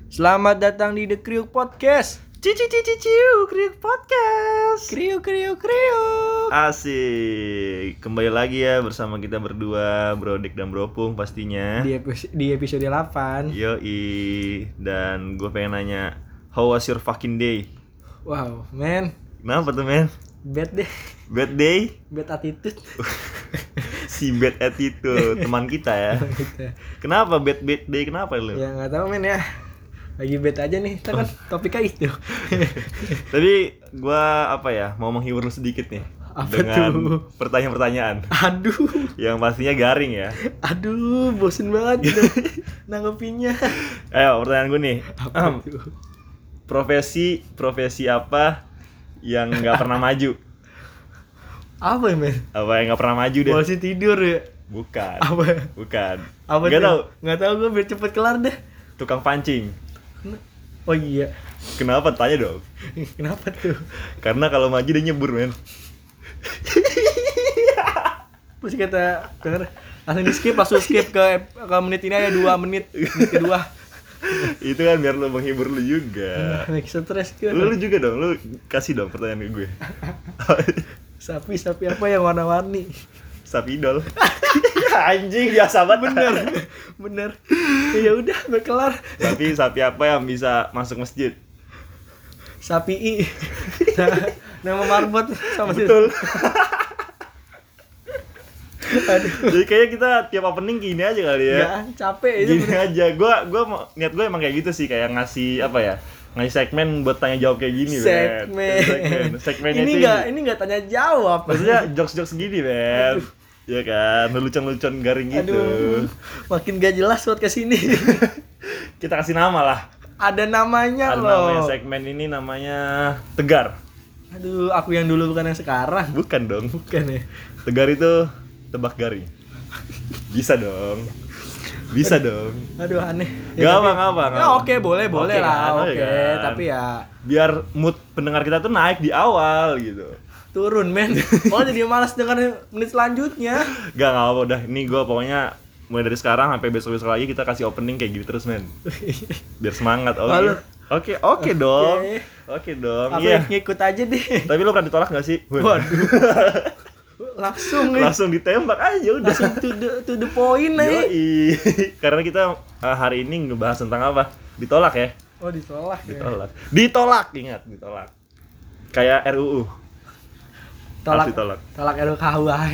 Selamat datang di The Kriuk Podcast. Kriuk Podcast. Kriuk. Asik. Kembali lagi ya bersama kita berdua, Brodek dan Bropung pastinya. Di episode 8. Yoi. Dan gue pengen nanya, how was your fucking day? Wow, man. Kenapa tuh, men? Bad deh. Bad day? Bad attitude. Si bad attitude teman kita ya. Kenapa bad day? Kenapa lu? Ya nggak tahu men ya. Lagi bad aja nih, kita kan topiknya itu. Tadi gue mau menghibur lu sedikit nih. Apa dengan tuh? pertanyaan-pertanyaan Aduh, yang pastinya garing ya. bosen banget gitu nanggepinnya. Ayo, pertanyaan gue nih. Apa tuh? Profesi apa yang nggak pernah maju? Apa ya men? Apa yang nggak pernah maju deh? Masih tidur ya? Bukan. Apa? Apa Nggak tuh? tahu. Nggak tahu, gue biar cepet kelar deh. Tukang pancing. Oh iya. Kenapa? Tanya dong. Kenapa tuh? Karena kalau maju dia nyebur, men. Terus kata denger langsung skip ke menit ini ada 2 menit kedua. Itu kan biar lo menghibur lu juga. Make stres kan. Lu juga dong, lu kasih dong pertanyaan ke gue. Sapi apa yang warna-warni? Sapi idol. Anjing, biasa banget. Bener. Ya udah, gue kelar. Sapi apa yang bisa masuk masjid? Sapi I. Nama marbot sama Betul. Aduh. Jadi kayaknya kita tiap opening gini aja kali ya. Ya, capek aja. Gini aja. Niat gue emang kayak gitu sih, kayak ngasih ngasih segmen buat tanya jawab kayak gini, Segmennya ini enggak tanya jawab. Maksudnya jokes gini, Ben. Iya kan, lelucon garing gitu. Aduh, makin gak jelas buat kesini. Kita kasih nama lah. Ada namanya Ada loh. namanya, segmen ini namanya Tegar. Aduh, aku yang dulu bukan yang sekarang. Bukan dong. Bukan ya. Tegar itu tebak garing. Bisa dong. Aduh, aneh. Gak apa. Ya oke, boleh Oke lah. kan, Oke, kan. tapi ya biar mood pendengar kita tuh naik di awal gitu. turun, men. Oh, jadi malas dengar menit selanjutnya. Gak apa udah. Ini gue pokoknya mulai dari sekarang sampai besok lagi kita kasih opening kayak gitu terus, men. Biar semangat. Oke dong. Oke dong. Iya, ngikut aja deh. Tapi lo pernah ditolak gak sih? Waduh. Langsung ditembak aja udah. Langsung to the point nih. Yoi. Karena kita hari ini ngebahas tentang apa? Ditolak ya? Oh, ditolak ya. Ditolak, ingat, ditolak. Kayak RUU. Tolak RUKUHP.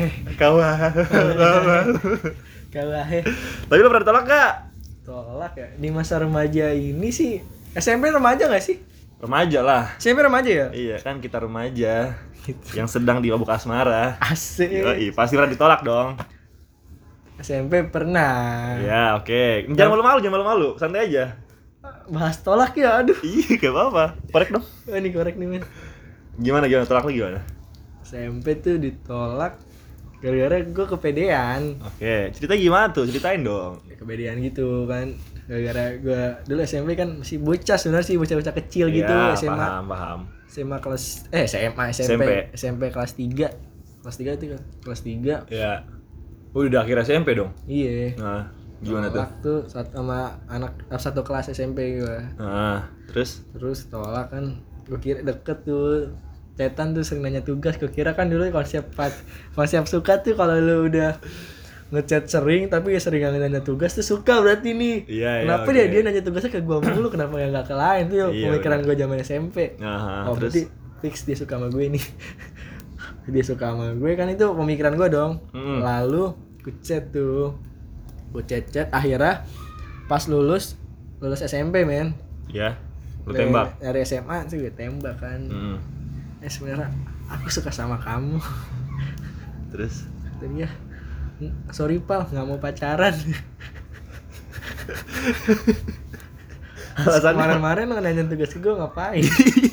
KUHP. Tapi lo pernah ditolak gak? Tolak ya. Di masa remaja ini sih, SMP remaja gak sih? Remaja lah. SMP remaja ya? Iya kan, kita remaja yang sedang di mabuk asmara. Asik. Yoi, pasti pernah ditolak dong. SMP pernah. Ya oke. Jangan malu-malu, santai aja. Bahas tolak ya, aduh. Iya, gak apa-apa. Korek dong. Oh, ini korek nih, men. Gimana tolak lu gimana? SMP tuh ditolak gara-gara gue kepedean. Oke, cerita gimana tuh? Ceritain dong. Kepedean gitu kan. Gara-gara gue dulu SMP kan masih bocah sebenarnya sih, bocah-bocah kecil gitu. Ya, SMA. paham. SMA kelas SMP kelas 3. Kelas 3 itu kan. Kelas 3. Ya. Udah akhir SMP dong. Iya. Nah, gimana tuh? Tuh sama anak satu kelas SMP gue. Nah, terus Tolak kan. Gue kira deket tuh. Cetan tuh sering nanya tugas. Gue kira kan dulu konsep suka tuh kalau lu udah ngechat sering tapi sering nanya tugas tuh suka berarti nih. Iya, kenapa okay. dia nanya tugasnya ke gue mulu, kenapa enggak ke lain tuh? Iya, pemikiran gue zaman SMP. Terus? Berarti fix dia suka sama gue nih. Dia suka sama gue kan, itu pemikiran gue dong. Lalu gue chat akhirnya pas lulus SMP, men. Ya. Lu tembak. Dari SMA sih gue tembak kan. Sebenarnya aku suka sama kamu. Terus? Tadi ya, sorry pal, nggak mau pacaran. Kemarin lo nanya tugas gue ngapain?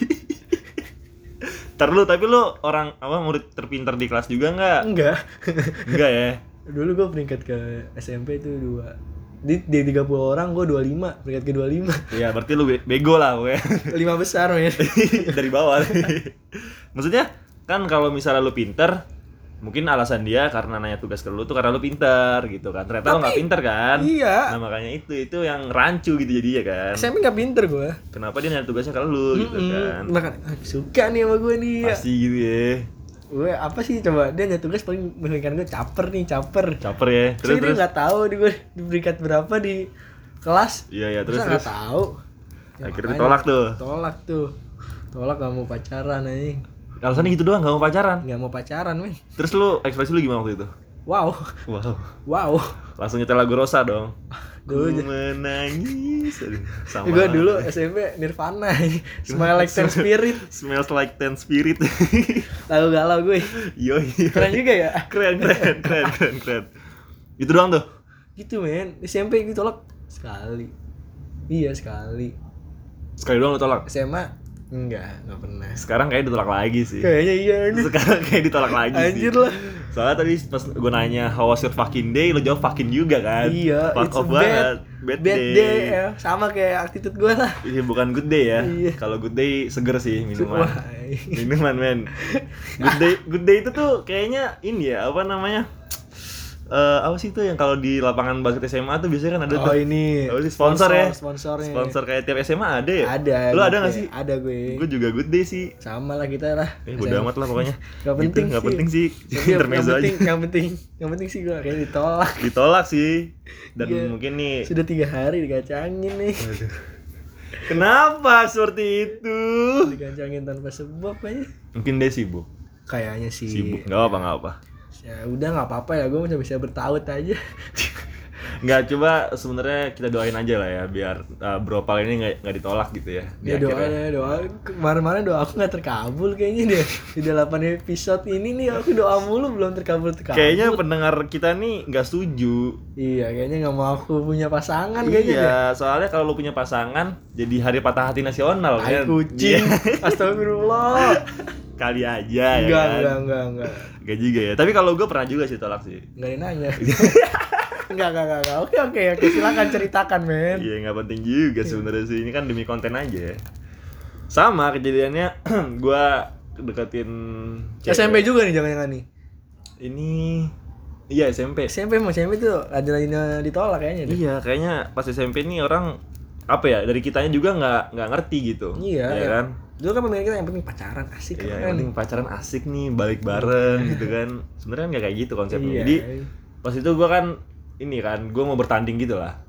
Tapi lu orang murid terpintar di kelas juga nggak? Enggak ya? Dulu gue peringkat ke SMP itu 2. Di 30 orang gue 25, peringkat ke 25. Iya, berarti lu bego lah gue. 5 besar, men. Dari bawah. Maksudnya kan kalau misalnya lu pinter, mungkin alasan dia karena nanya tugas ke lu tuh karena lu pintar gitu kan. Ternyata lu nggak pintar kan. Iya. Nah makanya itu yang rancu gitu jadinya kan. SMP nggak pinter gue. Kenapa dia nanya tugasnya ke lu gitu kan. Makanya suka nih sama gue nih. Pasti gitu ya. Gue apa sih coba dia nanya tugas paling mengingatkan gue caper Caper ya. Terus dia nggak tahu di gue di peringkat berapa di kelas. Iya terus nggak tahu. Ya, akhirnya Tolak gak mau pacaran anjing. Alasannya gitu doang, gak mau pacaran. Gak mau pacaran, men. Terus lu ekspresi lu gimana waktu itu? Wow. Langsung nyetel lagu Rosa dong. Dulu Ku menangis. Sama. Gue dulu SMP Nirvana. Smile Like Teen Spirit. Smells Like Teen Spirit. Lagu galau gue. Yoi. Keren juga ya. Keren. Itu doang tuh. Gitu, men. SMP ditolak sekali. Iya, sekali. Sekali doang lu tolak. SMA enggak pernah. Sekarang kayak ditolak lagi sih. Kayaknya iya ini. Sekarang kayak ditolak lagi sih. Anjir lah. Soalnya tadi pas gue nanya how was your fucking day, lu jawab fucking juga kan. Iya, fuck it's off a banget. Bad day ya. Sama kayak attitude gue lah. Iya bukan good day ya. Iya. Kalau good day seger sih minuman. Wah. Minuman men. Good day itu tuh kayaknya ini ya apa namanya? Apa sih itu yang kalau di lapangan basket SMA tuh biasanya kan ada tuh. Oh ini. Apa sih sponsor ya? Sponsornya. Sponsor kayak tiap SMA ada ya? Ada. Lu ada nggak sih? Ada gue. Gue juga good day sih. Sama lah kita lah. Bodo amat lah pokoknya. Gak penting gitu, sih. Gak penting sih. Tapi Intermezzo aja. Yang penting sih gue kayak ditolak. Ditolak sih. Dan Iya. mungkin nih. Sudah 3 hari dikacangin nih. Aduh. Kenapa seperti itu? Dikacangin tanpa sebab aja. Mungkin dia sibuk. Kayaknya sih. Sibuk. Gak apa. Ya udah nggak apa-apa ya, gue masih bisa bertaut aja. Nggak, coba sebenarnya kita doain aja lah ya biar Bro Pal ini nggak ditolak gitu ya. Ya doa kemarin doa aku nggak terkabul kayaknya deh. Di 8 episode ini nih aku doa mulu belum terkabul. Kayaknya pendengar kita nih nggak setuju. Iya, kayaknya nggak mau aku punya pasangan Iya, kayaknya deh. soalnya kalau lu punya pasangan jadi hari patah hati nasional Tai kan. kucing. Astagfirullah. Kali aja ya kan. Enggak. Gak juga ya. Tapi kalau gue pernah juga sih tolak sih. Enggak ada yang nanya. Enggak. Oke, silakan ceritakan, men. Iya, nggak penting juga sebenarnya sih. Ini kan demi konten aja ya. Sama kejadiannya gue deketin cewek. SMP juga nih jangan-jangan nih. Ini iya SMP. SMP tuh ada ditolak kayaknya deh. Iya, kayaknya pas SMP nih orang apa ya, dari kitanya juga nggak ngerti gitu. Iya ya kan. Dulu kan pemikiran kita yang penting pacaran asik Iya, kan. yang penting pacaran asik nih, balik bareng gitu kan. Sebenarnya nggak kayak gitu konsepnya. Iya. Jadi pas itu gue kan ini kan, gue mau bertanding gitu lah.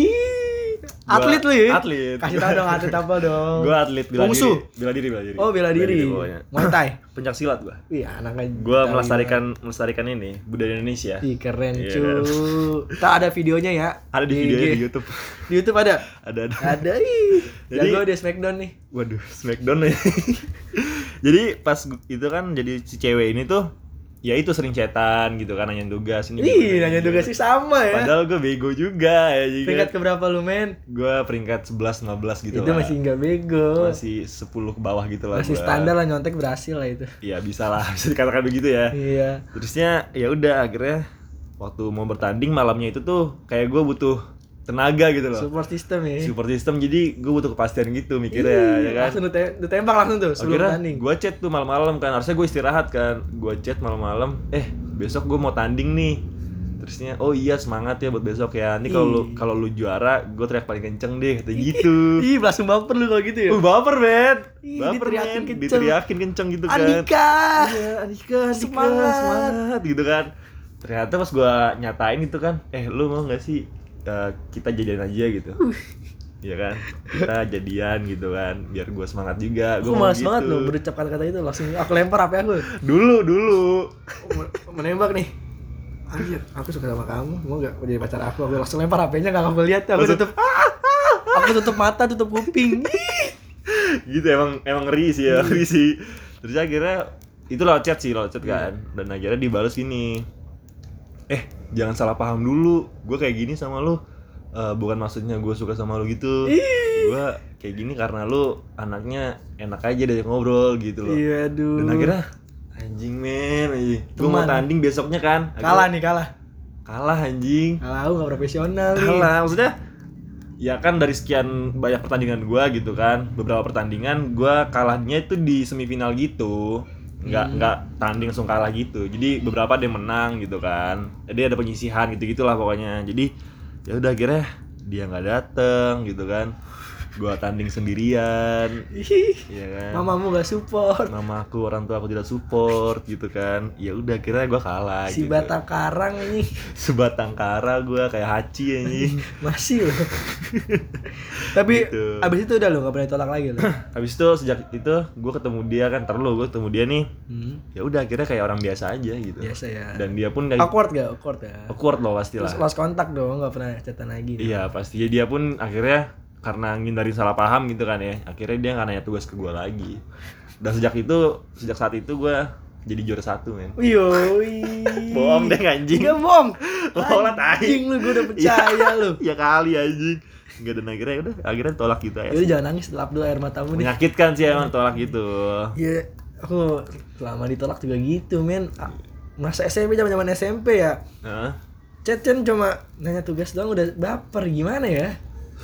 Atlet lu ya? Atlet. Kasih tau dong atlet apa dong. Gue atlet bela Wungsu. diri. Bela diri. Oh, bela diri. Pokoknya. Muay Thai. Pencak silat gue. Wih, anaknya. Gue melestarikan ini budaya Indonesia. Ih, keren Iya. cu. Tak ada videonya ya. Ada di videonya IG. di YouTube. Di YouTube ada. Ada. Ada ih. Jadi- Jago dia Smackdown nih. Waduh, Smackdown ya. Jadi pas itu kan jadi si cewek ini tuh ya itu sering chatan gitu kan, nanyain tugas ini. Ih, nanya tugas sih sama ya. Padahal gue bego juga ya. Jadi Peringkat keberapa lu, men? gue peringkat 11-15 gitu Itu lah. masih enggak bego. Masih 10 ke bawah gitu lah. Masih gua. standar lah, nyontek berhasil lah itu. Iya, bisa lah, bisa dikatakan begitu ya. Iya. Terusnya ya udah akhirnya waktu mau bertanding malamnya itu tuh kayak gue butuh tenaga gitu loh. Support system ya. Support system, jadi gue butuh kepastian gitu mikirnya ya kan. Langsung ditembak langsung tuh sebelum Akhirnya tanding. gue chat tuh malam-malam kan, harusnya gue istirahat kan. Gue chat malam-malam, besok gue mau tanding nih. Terusnya, oh iya semangat ya buat besok ya. Nanti kalau lu juara, gue teriak paling kenceng deh, kata gitu. Ih, langsung baper lu kalau gitu ya. Baper men. Ih, Baper diteriakin men. kenceng. Diteriakin kenceng gitu kan. Andika. Iya, Andika, Semangat. gitu kan. Ternyata pas gue nyatain gitu kan, lu mau nggak sih kita jadian aja gitu. Iya kan, kita jadian gitu kan, biar gue semangat juga. Aku malas banget loh berucap kata-kata itu, langsung aku lempar HP aku. Dulu. Menembak nih. Anjir, aku suka sama kamu, mau gak jadi pacar aku? Aku langsung lempar HP-nya, gak aku lihat, aku tutup. Aku tutup mata, tutup kuping. Gitu emang ngeri sih ya, ngeri sih. Terus akhirnya itu lewat chat kan, dan akhirnya dibalas gini. Jangan salah paham dulu, gue kayak gini sama lu bukan maksudnya gue suka sama lu gitu. Gue kayak gini karena lu anaknya enak aja diajak ngobrol gitu loh. Iya, aduh. Dan akhirnya anjing men, gue mau tanding besoknya kan. Kalah Anjing. Kalah, aku gak profesional nih. Kalah, maksudnya ya kan dari sekian banyak pertandingan gue gitu kan, beberapa pertandingan gue kalahnya itu di semifinal gitu. nggak tanding langsung kalah gitu. Jadi beberapa ada yang menang gitu kan. Jadi ada penyisihan gitu-gitulah pokoknya. Jadi ya udah akhirnya dia nggak dateng gitu kan. Gua tanding sendirian. Iya kan. Mamamu gak support. Mamaku, orang tua aku tidak support gitu kan. Ya udah akhirnya gua kalah Si gitu. batang karang ini Sebatang kara gua kayak Hachi anjing. masih loh. Tapi Gitu. abis itu udah lo gak pernah ditolak lagi lo. Habis itu sejak itu gua ketemu dia kan, gue ketemu dia nih. Ya udah akhirnya kayak orang biasa aja gitu. Biasa ya. Dan dia pun kayak Awkward gak? Awkward ya. awkward loh pastilah. Terus lost kontak dong, gak pernah chatan lagi. Iya pasti. Dia pun akhirnya karena ngindarin salah paham gitu kan ya, akhirnya dia nggak nanya tugas ke gue lagi. Dan sejak saat itu gue jadi juara 1 men. Yoi. Bohong deh anjing. Gak bohong. Bohong lah tai. Anjing lu, gue udah percaya lu. Ya kali anjing. Enggak, dan akhirnya tolak gitu ya. Yaudah jangan nangis, lap dulu air matamu nih. Menyakitkan sih emang tolak gitu. Iya, aku selama ditolak juga gitu men. Masa SMP, zaman SMP ya. Nah, Chat-chat cuma nanya tugas doang udah baper, gimana ya?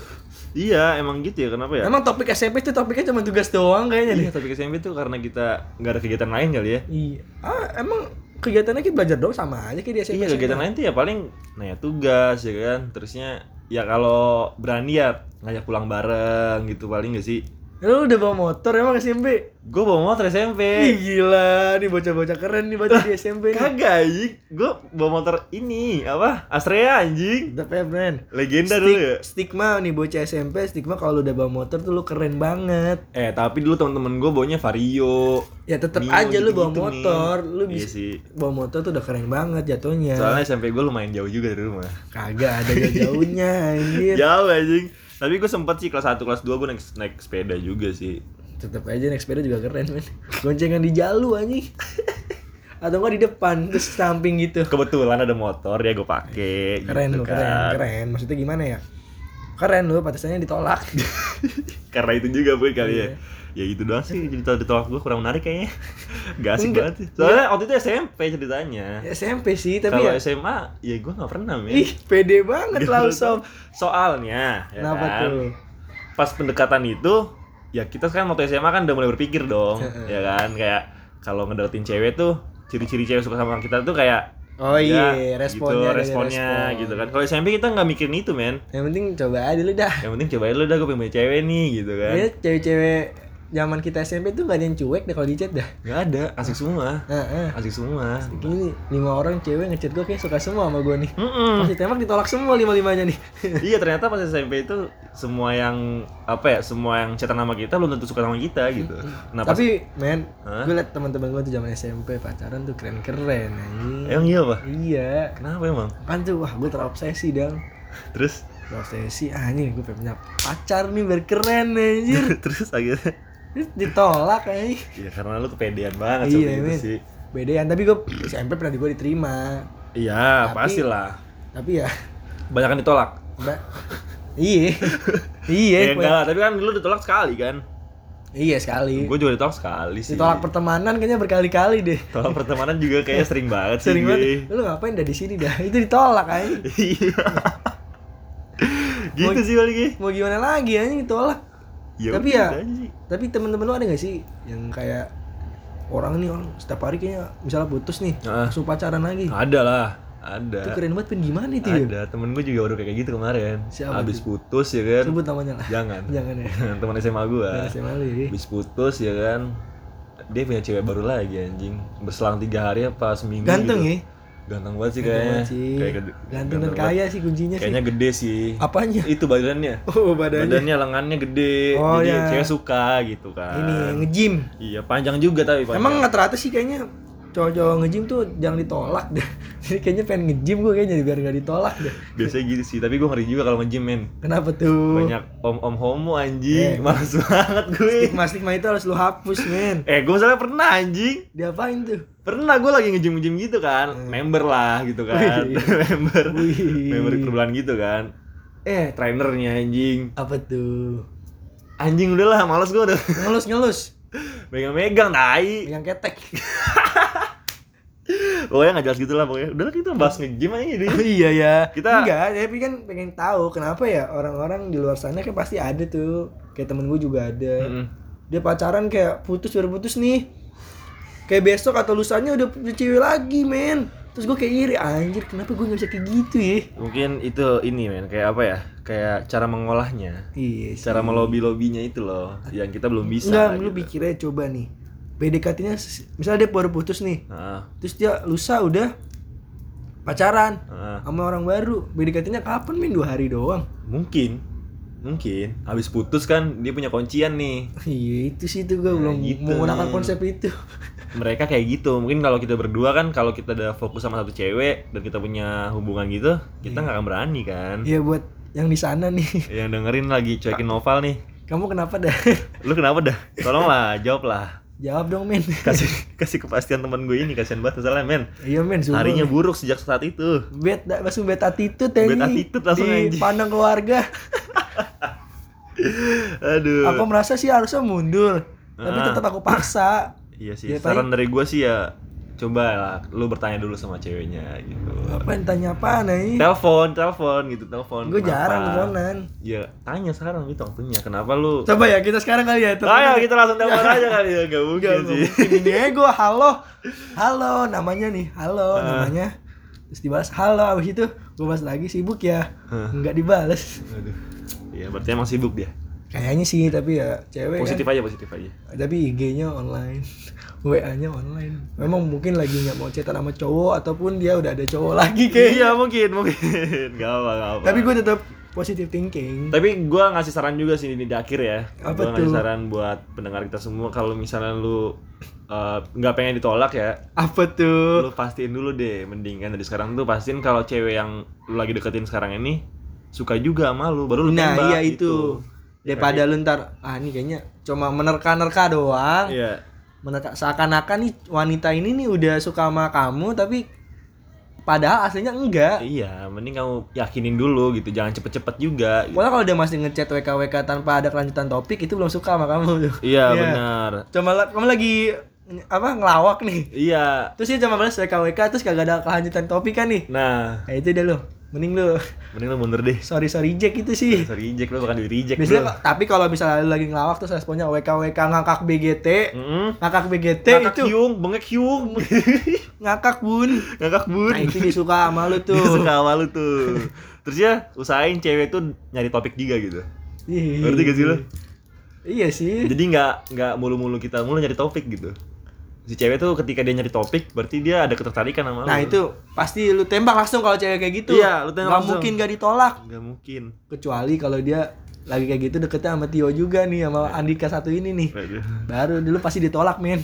iya emang gitu ya, kenapa ya? Emang topik SMP itu topiknya cuma tugas doang kayaknya deh. Iya, tapi SMP tuh karena kita nggak ada kegiatan lain kali ya. Iya. Emang kegiatannya kita belajar doang sama aja kayak di SMP. Iya, kegiatan lain tuh ya paling nanya tugas ya kan. Terusnya ya kalau berani ya ngajak pulang bareng gitu paling gak sih? Lu udah bawa motor emang SMP? Gue bawa motor SMP. Ih gila, nih bocah-bocah keren nih baca di SMP nih. Kagak anjing. Gue bawa motor ini apa? Astrea anjing. Tetep ya friend. Legenda dulu ya. Stigma nih bocah SMP, stigma kalau udah bawa motor tuh lu keren banget. Tapi dulu temen-temen gue bawanya Vario. Ya tetep Mio, aja lu bawa gitu-gitu motor, nih. lu Iya bisa sih. bawa motor tuh udah keren banget jatuhnya. Soalnya SMP gue lumayan jauh juga dari rumah. Kagak ada jauhnya anjir. Jauh anjing. Tapi gue sempet sih kelas 1, kelas 2 gue naik sepeda juga sih. Tetep aja naik sepeda juga keren men. Goncengan di jalu anjing. Atau enggak di depan terus samping gitu. Kebetulan ada motor ya gue pake. Keren gitu lu, kan. keren. Maksudnya gimana ya? Keren lu, pantesannya ditolak. Karena itu juga gue kali ya. Iya. Ya gitu doang sih, jadi ditolak gue kurang menarik kayaknya. Gak asik Enggak. banget sih. Soalnya waktu itu SMP ceritanya. SMP sih, tapi Kalau ya SMA, ya gue gak pernah men. ih, pede banget lah sob. Soalnya, ya Kenapa kan, tuh? pas pendekatan itu, ya kita kan waktu SMA kan udah mulai berpikir dong, ya kan, kayak kalau ngedeketin cewek tuh, ciri-ciri cewek suka sama kita tuh kayak Oh ya, iya, responnya gitu, dari responnya respon. gitu kan. Kalau SMP kita nggak mikirin itu men. Yang penting coba aja dulu dah. Yang penting cobain lu dah, gue pengen punya cewek nih gitu kan. Ya cewek-cewek zaman kita SMP tuh gak ada yang cuek deh kalau di chat dah. Nggak ada, asik semua, Heeh. asik semua. Gini 5 orang cewek ngechat gue kayak suka semua sama gue nih. Mm-mm. Pas ditembak ditolak semua 5-5-nya nih. Iya, ternyata pas SMP itu semua yang semua yang chatan sama kita belum tentu suka sama kita gitu. Nah, pas- Tapi men, Hah? gue liat teman-teman gue tuh zaman SMP pacaran tuh keren-keren anjing. emang iya pak? Iya. Kenapa emang? Kan tuh wah gue terobsesi dong. Terus Terobsesi anjing gue pengen punya pacar nih biar keren anjir. terus akhirnya Terus ditolak anjing. ya karena lu kepedean banget Iya, seperti itu men. sih. Bedean, tapi gue SMP pernah gue diterima. Iya, Tapi- pastilah. Tapi ya Banyak kan ditolak. Mbak. Iya. Iya, Ya enggak, tapi kan lu ditolak sekali kan. Iya sekali. Gue juga ditolak sekali sih. Ditolak pertemanan kayaknya berkali-kali deh. Tolak pertemanan juga kayaknya sering banget sih. Sering gue. banget. Lu ngapain dah di sini dah? Itu ditolak anjing. Iya. Gitu sih lagi. Mau gimana lagi anjing ditolak. Ya Tapi udah ya, aja sih. tapi temen-temen lu ada gak sih yang kayak orang nih orang setiap hari kayaknya misalnya putus nih, Heeh. langsung pacaran lagi. Ada lah, ada. Itu keren banget, Pin. Gimana itu ya? Ada, temen gue juga baru kayak gitu kemarin. Siapa Abis tuh? putus ya kan. Sebut namanya lah. Jangan. Jangan ya. Teman SMA gue. Jangan SMA lu ya. Abis putus ya kan. Dia punya cewek baru lagi anjing. Berselang 3 hari apa seminggu Ganteng gitu. ya? Ganteng banget sih Ganteng kayaknya. banget sih. Kayak Ganteng dan banget. kaya sih kuncinya sih. Kayaknya gede sih. Apanya? Itu badannya. Oh, badannya. Lengannya gede. Oh, jadi ya. cewek suka gitu kan. Ini nge-gym. Iya, panjang juga tapi panjang. Emang rata-rata sih kayaknya cowok-cowok nge-gym tuh jangan ditolak deh. Jadi kayaknya pengen nge-gym gue kayaknya biar gak ditolak deh. biasanya gitu sih, tapi gue ngeri juga kalau nge-gym men. Kenapa tuh? Banyak om-om homo anjing. Eh. Males banget gue. Stigma itu harus lu hapus, men. Gue misalnya pernah anjing. Diapain tuh? Pernah gue lagi nge-gym gitu kan. Member lah gitu kan. Wih. member. Wih. Member perbulan gitu kan. Trainernya anjing. Apa tuh? Anjing udahlah, males gue udah. Ngelus. Megang-megang tai. Yang ketek. Pokoknya gak jelas gitu lah pokoknya. Udahlah kita bahas nge-gym aja deh. Oh iya ya. Kita- Enggak, tapi kan pengen tahu kenapa ya orang-orang di luar sana kan pasti ada tuh. Kayak temen gue juga ada. Mm-mm. Dia pacaran kayak baru putus nih. kayak besok atau lusanya udah punya cewek lagi men. Terus gue kayak iri, anjir kenapa gue gak bisa kayak gitu ya. Mungkin itu ini men, kayak apa ya, kayak cara mengolahnya, Iya sih. cara melobi-lobinya itu loh yang kita belum bisa Enggak, lu gitu. pikirnya coba nih PDKT-nya misalnya dia baru putus nih, Heeh. terus dia lusa udah pacaran Heeh. sama orang baru, PDKT-nya kapan men? 2 hari doang. Mungkin habis putus kan dia punya kuncian nih. Iya itu sih tuh gue Nah, belum gitu. menggunakan konsep itu. Mereka kayak gitu. Mungkin kalau kita berdua kan, kalau kita udah fokus sama satu cewek dan kita punya hubungan gitu, kita nggak akan berani kan. Iya buat yang di sana nih. Yang dengerin lagi cuekin Noval nih. Kamu kenapa dah? Lu kenapa dah? Tolonglah jawab lah. Jawab dong men. Kasih kepastian teman gue ini, kasihan banget masalahnya men. Iya men, sumpah. Harinya buruk sejak saat itu. Langsung bad attitude ya Bad ini. attitude langsung, anjing. dipandang keluarga. Aduh. Aku merasa sih harusnya mundur, tapi tetap aku paksa. Iya sih. Ya, Saran dari gue sih ya, coba lah lu bertanya dulu sama ceweknya gitu. Ngapain tanya apa nih? Telepon gitu, telepon. Gue Kenapa? jarang teleponan. Ya, tanya sekarang gitu waktunya. Kenapa lu? Coba ya kita sekarang kali ya. Ayo kita langsung telepon aja kali ya. Gak mungkin Gak sih. mungkin ini gue halo namanya nih, halo namanya. Terus dibalas halo, abis itu gue balas lagi sibuk ya. Enggak dibalas. Aduh. Ya berarti emang sibuk dia. Kayaknya sih, tapi ya cewek Positif kan. positif aja. Tapi IG-nya online. WA-nya online. Memang mungkin lagi nggak mau chatan sama cowok ataupun dia udah ada cowok lagi kayak. Iya mungkin. Gak apa. Tapi gue tetap positive thinking. Tapi gue ngasih saran juga sih di akhir ya. Apa Gue ngasih tuh? saran buat pendengar kita semua, kalau misalnya lu nggak pengen ditolak ya, Apa tuh? lu pastiin dulu deh, mending kan dari sekarang tuh pastiin kalau cewek yang lu lagi deketin sekarang ini suka juga sama lu, baru lu Nah tembak iya gitu. itu. Daripada lu ntar ini kayaknya cuma menerka-nerka doang. Iya. Seakan-akan nih wanita ini nih udah suka sama kamu tapi padahal aslinya enggak. Iya, mending kamu yakinin dulu gitu, jangan cepet-cepet juga gitu. Pokoknya kalau dia masih ngechat WK tanpa ada kelanjutan topik itu belum suka sama kamu tuh. Iya, benar. Kamu lagi ngelawak nih. Iya. Terus dia cuma balas WK terus kagak ada kelanjutan topik kan nih. Nah, Kayak itu dah lu. Mending lu mundur deh. sorry Jack itu sih. Sorry reject, lu bakal di reject. Biasanya tapi kalau misalnya lu lagi ngelawak terus responnya WK ngakak BGT. Ngakak BGT Ngakak itu hyung, bengek hyung. ngakak bun. Ngakak bun. Nah itu dia suka sama lu tuh. Dia suka sama lu tuh. Terus ya usahain cewek tuh nyari topik juga gitu. Ngerti gak sih lu? Iya sih. Jadi nggak mulu-mulu kita mulu nyari topik gitu. Si cewek tuh ketika dia nyari topik berarti dia ada ketertarikan sama lu. Nah itu pasti lu tembak langsung kalau cewek kayak gitu. Iya, lu tembak langsung. mungkin gak ditolak. Nggak mungkin. Kecuali kalau dia lagi kayak gitu deketnya sama Tio juga nih, sama Andika satu ini nih. Waduh. Baru dulu pasti ditolak men.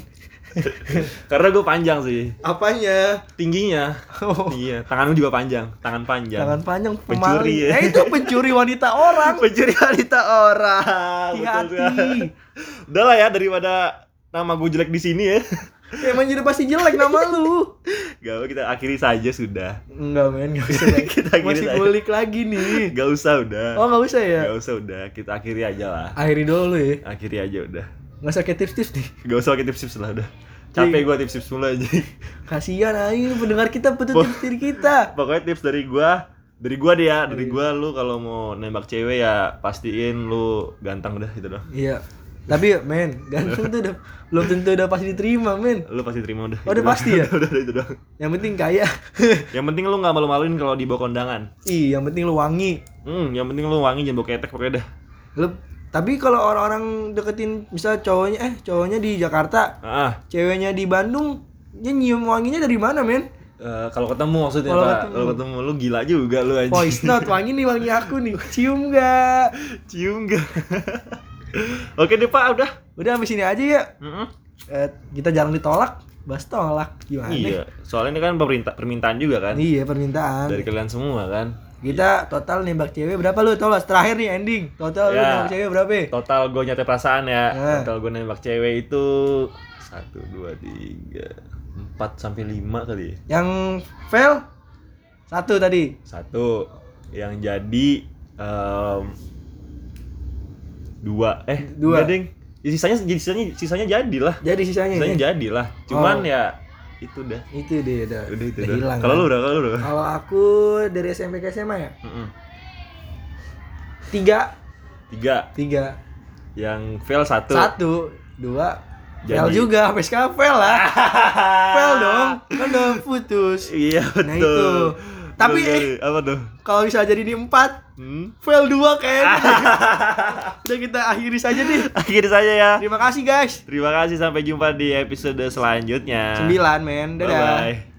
Karena gue panjang sih. Apanya? Tingginya. Iya, tangan lu juga panjang, tangan panjang. Tangan panjang Pencuri pemaling. ya. Itu pencuri wanita orang. Pencuri wanita orang. Betul Hati-hati. sekali. Udah lah ya, daripada nama gue jelek di sini ya. Emang jadi pasti jelek nama lu. Gak apa, kita akhiri saja sudah. Enggak men, enggak usah. Kita akhiri Masih aja. ngulik lagi nih. Gak usah udah. Oh, enggak usah ya? Gak usah udah, kita akhiri aja lah. Akhiri dulu ya. Akhiri aja udah. Enggak usah kayak tips-tips nih. Gak usah pakai tips-tips lah udah. Capek gue tips-tips mulu aja. Kasihan aja pendengar kita, butuh tips dari kita. Pokoknya tips dari gua deh ya, dari gua, lu kalau mau nembak cewek ya pastiin lu ganteng udah gitu dong. Iya. Tapi men, ganteng tuh udah belum tentu udah pasti diterima men. Lu pasti terima udah. Oh, udah Gitu pasti doang. ya? Udah itu dong. Yang penting kaya. Yang penting lu nggak malu-maluin kalau dibawa kondangan. Yang penting lu wangi. Yang penting lu wangi, jangan bawa ketek pokoknya dah. Tapi kalau orang-orang deketin misal cowoknya di Jakarta, ceweknya di Bandung, dia nyium wanginya dari mana men? Kalau ketemu maksudnya Kalau Pak. ketemu. Kalau ketemu lu gila juga lu aja. Voice note, wangi nih wangi aku nih. Cium gak? Cium gak? Oke deh Pak, udah. Udah sampai sini aja ya. Mm-mm. Kita jarang ditolak, bahas tolak gimana? Iya, soalnya ini kan permintaan juga kan. Iya permintaan. Dari kalian semua kan. Kita total nembak cewek berapa lu? Tolong terakhir nih ending. Total lu Ya. nembak cewek berapa? Total gue nyate perasaan ya. Nah. Total gue nembak cewek itu 1, 2, 3, 4 sampai 5 kali. Yang fail 1 tadi. 1. Yang jadi 2. 2. Enggak, Ding. Ya, sisanya jadilah. Jadi sisanya Sisanya ya? jadilah. Cuman Oh. ya itu dah. Itu deh udah Udah itu udah dah. hilang. Kalau kan? lu udah. Kalau aku dari SMP ke SMA ya? Mm-mm. 3. 3. Yang fail 1. 1, 2, Fail juga, sampai sekarang fail lah. Fail dong, kan udah putus. Iya betul. Nah itu. Tapi apa tuh? kalau bisa jadi di 4, fail 2 kayaknya. Udah kita akhiri saja nih. Akhir saja ya. Terima kasih guys. Terima kasih, sampai jumpa di episode selanjutnya. 9 men, dadah. Bye bye.